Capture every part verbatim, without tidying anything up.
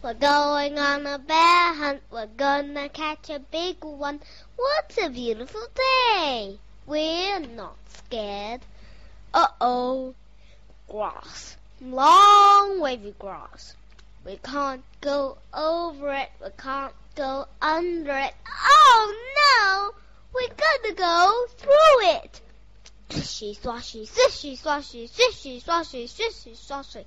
We're going on a bear hunt. We're gonna catch a big one. What a beautiful day. We're not scared. Uh-oh. Grass. Long wavy grass. We can't go over it. We can't go under it. Oh no! We gotta go through it. Swishy swashy, swishy swashy, swishy swashy, swishy swashy.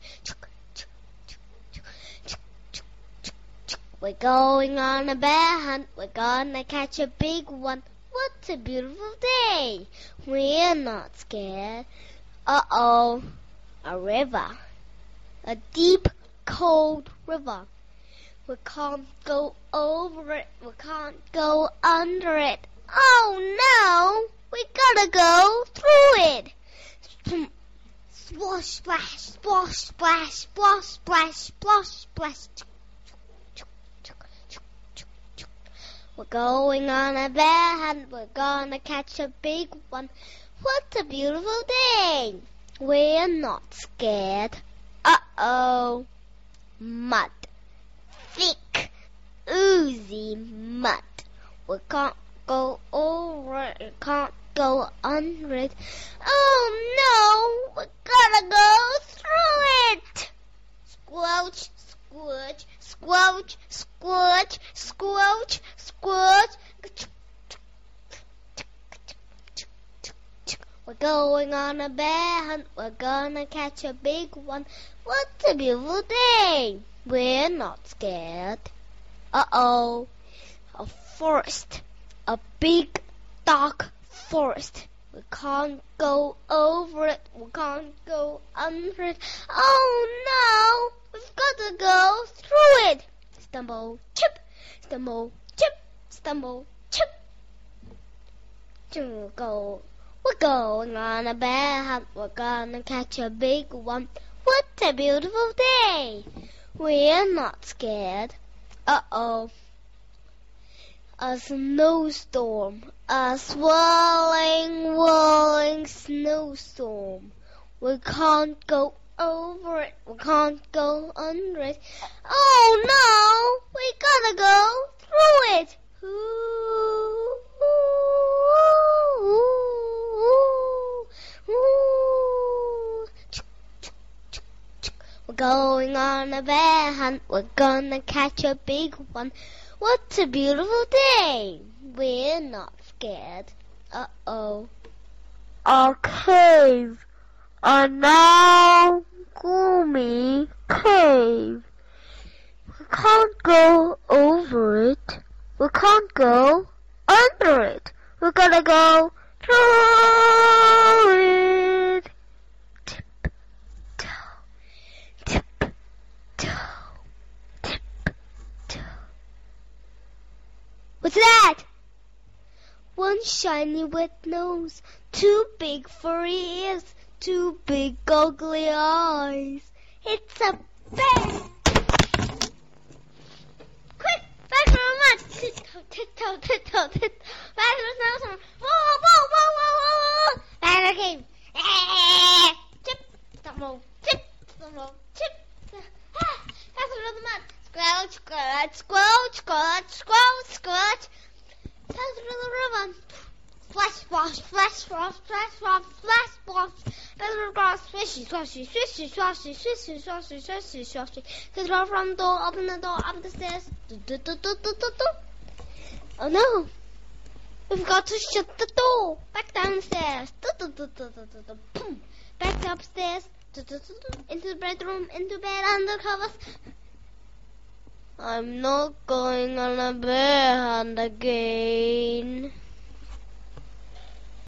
We're going on a bear hunt. We're gonna catch a big one. What a beautiful day. We're not scared. Uh-oh. A river. A deep, cold river. We can't go over it. We can't go under it. Oh no! We gotta go through it. Splash, splash, splash, splash, splash, splash, splash, splash. We're going on a bear hunt. We're gonna catch a big one. What a beautiful day. We're not scared. Uh-oh. Mud. Thick, oozy mud. We can't go over it. We can't go under it. Oh no! We gotta go through it. Squelch, squelch, squelch, squelch, squelch, squelch. We're going on a bear hunt. We're gonna catch a big one. What a beautiful day. We're not scared. Uh-oh. A forest. A big, dark forest. We can't go over it. We can't go under it. Oh no! We've got to go through it. Stumble, chip. Stumble, chip. Stumble, chip. To go. We're going on a bear hunt. We're gonna catch a big one. What a beautiful day. We're not scared. Uh-oh. A snowstorm. A swirling, whirling snowstorm. We can't go over it. We can't go under it. Oh no! We gotta go through it. Ooh, ooh, ooh, ooh. We're going on a bear hunt. We're gonna catch a big one. What a beautiful day. We're not scared. Uh-oh. A cave. A now gloomy cave. We can't go over it. We can't go under it. We gotta go through it. Tip, toe, tip, toe, tip, toe. What's that? One shiny wet nose, two big furry ears, two big goggly eyes. It's a bear! Quick, back from the mud! Tiptoe, tiptoe, tiptoe, tiptoe. Back to the snowstorm. Whoa, whoa, whoa, whoa, whoa, whoa! Back to the cave. Eh, tip, stumble, tip, stumble, tip. Ah, back through the mud. Squelch, squelch, squelch, squelch, squelch, squelch. Pass through the river. Splash, splash, splash, splash, splash, splash, splash, splash. Pass through the grass. Swishy, swashy, swishy, swashy, swishy, swashy, swishy, swashy. Get the front door, open the door, up the stairs. Do, do, do, do, do, do, do. Oh no! We've got to shut the door. Back downstairs. Do, do, do, do, do, do, do. Boom. Back upstairs. Do, do, do, do. Into the bedroom, into bed, under covers. I'm not going on a bear hunt again.